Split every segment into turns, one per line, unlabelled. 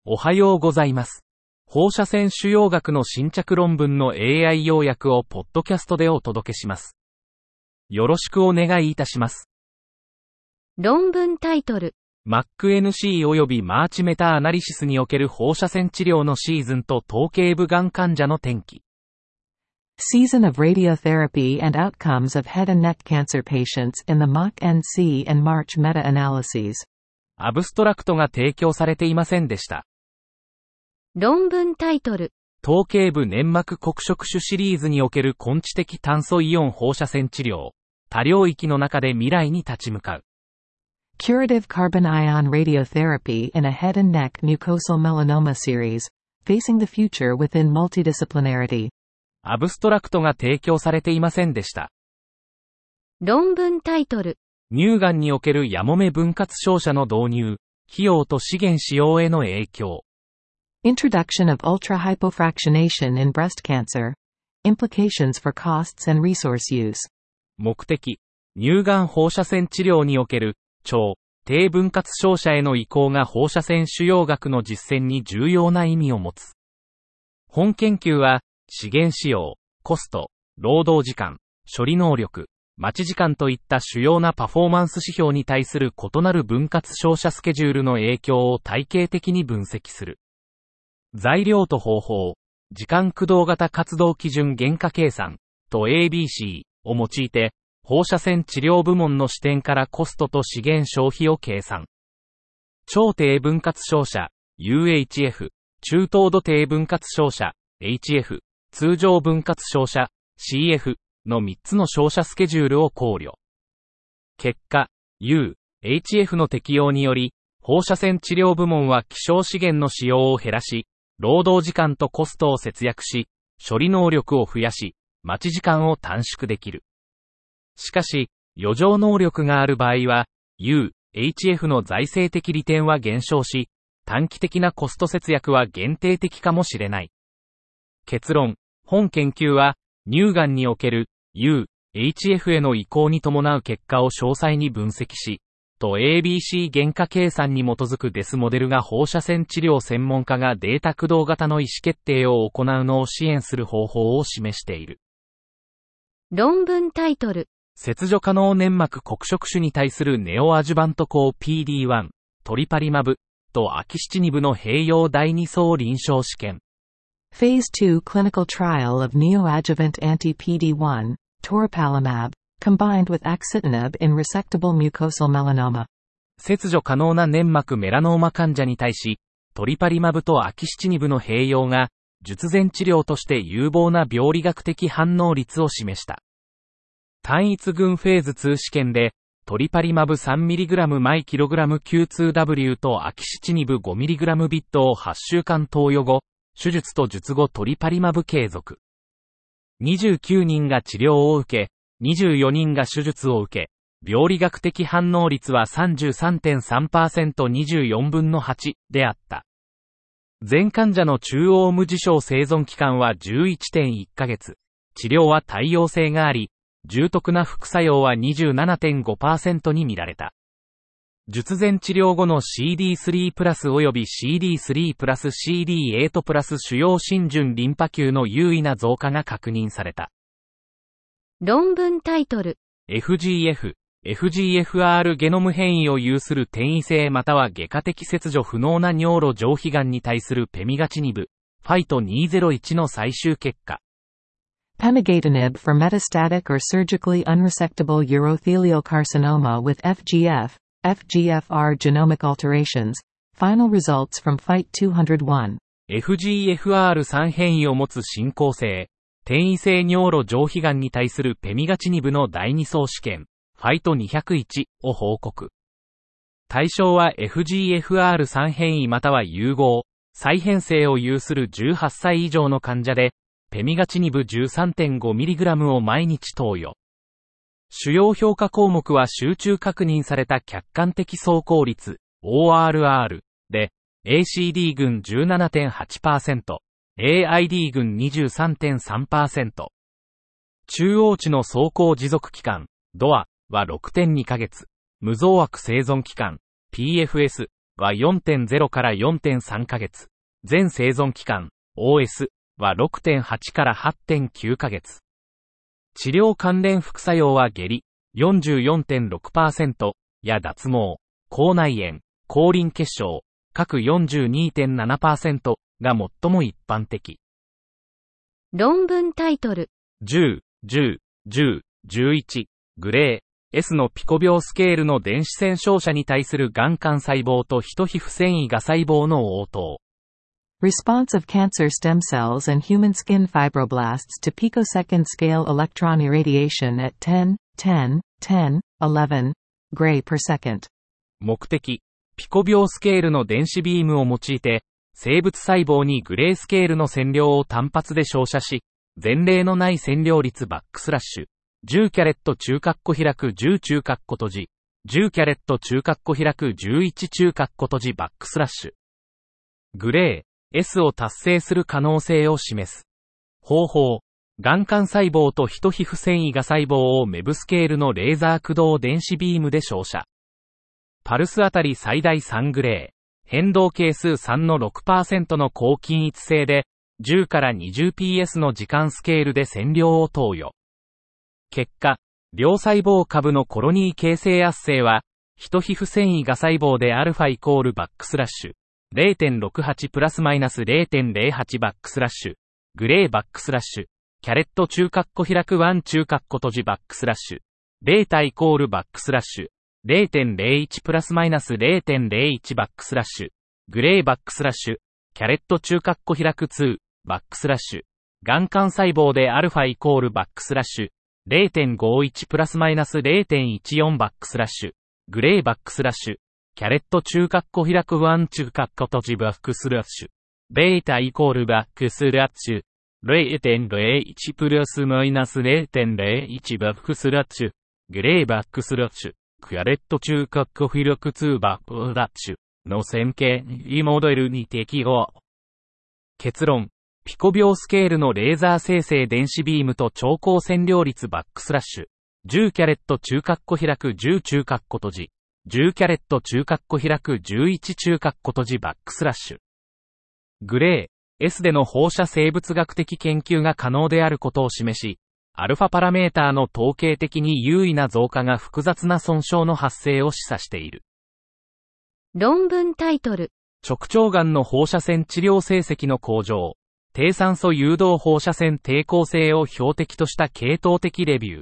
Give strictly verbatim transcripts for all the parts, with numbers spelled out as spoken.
おはようございます。放射線腫瘍学の新着論文の エーアイ 要約をポッドキャストでお届けします。よろしくお願いいたします。
論文タイトル。
マックエヌシー 及びマーチメタアナリシスにおける放射線治療のシーズンと頭頸部がん患者の転機。
Season of radiotherapy and outcomes of head and neck cancer patients in the マックエヌシー and March meta-analyses。
アブストラクトが提供されていませんでした。
論文タイトル。
頭頸部粘膜黒色種シリーズにおける根治的炭素イオン放射線治療。多領域の中で未来に立ち向かう。
Curative carbon ion radiotherapy in a head and neck mucosal melanoma series, facing the future within multidisciplinarity。
アブストラクトが提供されていませんでした。
論文タイトル。
乳がんにおけるやもめ分割照射の導入、費用と資源使用への影響。
Introduction of ultra-hypofractionation in breast cancer. Implications for costs and resource use.
目的、乳がん放射線治療における、超、低分割照射への移行が放射線腫瘍学の実践に重要な意味を持つ。本研究は、資源使用、コスト、労働時間、処理能力、待ち時間といった主要なパフォーマンス指標に対する異なる分割照射スケジュールの影響を体系的に分析する。材料と方法、時間駆動型活動基準原価計算と エービーシー を用いて、放射線治療部門の視点からコストと資源消費を計算。超低分割照射、ユーエイチエフ、中等度低分割照射、エイチエフ、通常分割照射、シーエフ のみっつの照射スケジュールを考慮。結果、ユーエイチエフ の適用により、放射線治療部門は希少資源の使用を減らし、労働時間とコストを節約し、処理能力を増やし、待ち時間を短縮できる。しかし、余剰能力がある場合は、ユーエイチエフ の財政的利点は減少し、短期的なコスト節約は限定的かもしれない。結論、本研究は、乳がんにおける ユーエイチエフ への移行に伴う結果を詳細に分析し、と エービーシー 原価計算に基づくデスモデルが放射線治療専門家がデータ駆動型の意思決定を行うのを支援する方法を示している。
論文タイトル。
切除可能粘膜黒色種に対するネオアジュバント抗 ピーディーワン、トリパリマブとアキシチニブの併用だいに層臨床試験。
Phase two clinical trial of neoadjuvant anti-ピーディーワン, toripalimab, combined with axitinib in resectable mucosal melanoma。
切除可能な粘膜メラノーマ患者に対し、トリパリマブとアキシチニブの併用が、術前治療として有望な病理学的反応率を示した。単一群フェーズツー試験で、トリパリマブ さんミリグラム 毎キログラム キューツーダブリュー とアキシチニブ ごミリグラム ビットをはちしゅうかん投与後、手術と術後トリパリマブ継続。にじゅうきゅうにんが治療を受け、にじゅうよにんが手術を受け、病理学的反応率は さんじゅうさんてんさんパーセント にじゅうよんぶんのはちであった。全患者の中央無事象生存期間は じゅういってんいっかげつ。治療は耐用性があり、重篤な副作用は にじゅうななてんごパーセント に見られた。術前治療後の シーディースリー プラス及び シーディースリー プラス シーディーエイト プラス主要浸潤リンパ球の優位な増加が確認された。
論文タイトル。
エフジーエフ、エフジーエフアール ゲノム変異を有する転移性または外科的切除不能な尿路上皮がんに対するペミガチニブ、ファイトにせんいちの最終結果。
Pemigatinib for metastatic or surgically unresectable urothelial carcinoma with エフジーエフ、エフジーエフアール genomic alterations. Final results from ファイトにぜろいち。
エフジーエフアールスリー 変異を持つ進行性、転移性尿路上皮がんに対するペミガチニブのだいに層試験、ファイトにひゃくいちを報告。対象は エフジーエフアールスリー 変異または融合、再変性を有するじゅうはっさい以上の患者で、ペミガチニブ じゅうさんてんごミリグラム を毎日投与。主要評価項目は集中確認された客観的走行率、オーアールアール で、エーシーディー 群 じゅうななてんはちパーセント、エーアイディー 群 にじゅうさんてんさんパーセント。中央値の走行持続期間、ドアは ろくてんにかげつ、無増悪生存期間、ピーエフエスは よんてんゼロ から よんてんさん ヶ月。全生存期間、オーエス は ろくてんはち から はってんきゅう ヶ月。治療関連副作用は下痢 よんじゅうよんてんろくパーセント や脱毛、口内炎、口輪結晶、各 よんじゅうにてんななパーセント が最も一般的。
論文タイトル。
じゅう、じゅう、じゅう、じゅういち、グレー、S のピコ秒スケールの電子線照射に対するがん幹細胞とヒト皮膚繊維芽細胞の応答。
Response of cancer stem cells and human skin fibroblasts to picosecond scale electron irradiation at ten, ten, ten, eleven gray per second。
目的、ピコ秒スケールの電子ビームを用いて、生物細胞にグレースケールの線量を単発で照射し、前例のない線量率バックスラッシュ、じゅうキャレット中括弧開くじゅう中括弧閉じ、じゅうキャレット中括弧開くじゅういち中括弧閉じバックスラッシュ。グレー、S を達成する可能性を示す。方法、がん幹細胞とヒト皮膚繊維芽細胞をメブスケールのレーザー駆動電子ビームで照射。パルスあたり最大さんグレー。変動係数さんの ろくパーセント の高均一性で、じゅうから にじゅうピーエス の時間スケールで線量を投与。結果、両細胞株のコロニー形成圧生は、ヒト皮膚繊維芽細胞で α イコールバックスラッシュ、れいてんろくはち プラスマイナス れいてんれいはち バックスラッシュ、グレーバックスラッシュ、キャレット中括弧開くいち中括弧閉じバックスラッシュ、ベータイコールバックスラッシュ、れいてんれいいち プラスマイナス れいてんれいいち バックスラッシュ、グレーバックスラッシュ、キャレット中括弧開くに、バックスラッシュ、がん幹細胞で α イコールバックスラッシュ、れいてんごいち プラスマイナス れいてんいちよん バックスラッシュ、グレーバックスラッシュ、キャレット中括弧開くいち中括弧閉じバックスラッシュ、ベータイコールバックスラッシュ、れいてんれいいち プラスマイナス れいてんれいいち バックスラッシュ、グレーバックスラッシュ、キャレット中括弧開くにバックスラッシュの線形モデルに適合。結論、ピコ秒スケールのレーザー生成電子ビームと超高線量率バックスラッシュ、じゅうキャレット中括弧開くじゅう中括弧閉じ、じゅうキャレット中括弧開くじゅういち中括弧閉じバックスラッシュ。グレー、S での放射生物学的研究が可能であることを示し、アルファパラメーターの統計的に優位な増加が複雑な損傷の発生を示唆している。
論文タイトル。
直腸がんの放射線治療成績の向上。低酸素誘導放射線抵抗性を標的とした系統的レビュー。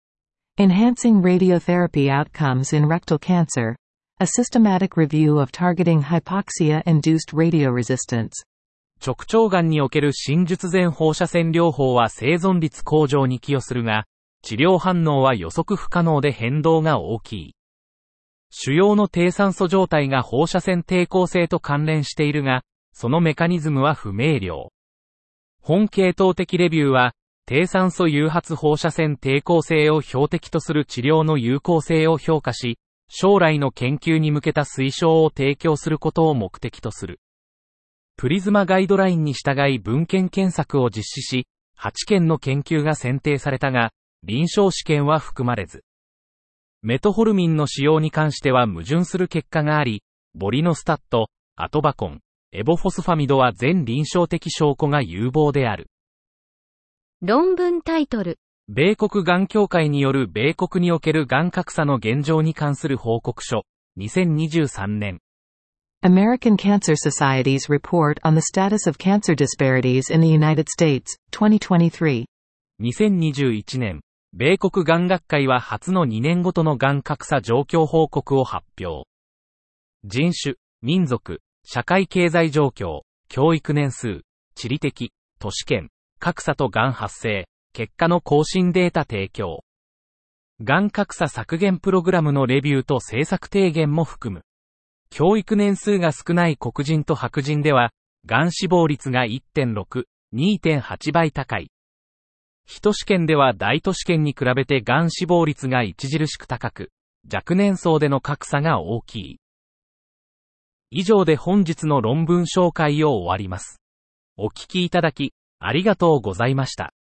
Enhancing radiotherapy outcomes in rectal cancer. A systematic review of targeting hypoxia-induced radioresistance.
直腸がんにおける新術前放射線療法は生存率向上に寄与するが、治療反応は予測不可能で変動が大きい。腫瘍の低酸素状態が放射線抵抗性と関連しているが、そのメカニズムは不明瞭。本系統的レビューは、低酸素誘発放射線抵抗性を標的とする治療の有効性を評価し、将来の研究に向けた推奨を提供することを目的とする。プリズマガイドラインに従い文献検索を実施し、はちけんの研究が選定されたが、臨床試験は含まれず。メトホルミンの使用に関しては矛盾する結果があり、ボリノスタット、アトバコン、エボフォスファミドは全臨床的証拠が有望である。
論文タイトル。
米国がん協会による米国におけるがん格差の現状に関する報告書、にせんにじゅうさんねん。
American Cancer Society's Report on the Status of Cancer Disparities in the United States, twenty twenty-three。
にせんにじゅういちねん、米国がん学会は初のにねんごとのがん格差状況報告を発表。人種、民族、社会経済状況、教育年数、地理的、都市圏、格差とがん発生、結果の更新データ提供。がん格差削減プログラムのレビューと政策提言も含む。教育年数が少ない黒人と白人では、がん死亡率が いってんろく、にてんはち 倍高い。非都市圏では大都市圏に比べてがん死亡率が著しく高く、若年層での格差が大きい。以上で本日の論文紹介を終わります。お聞きいただき、ありがとうございました。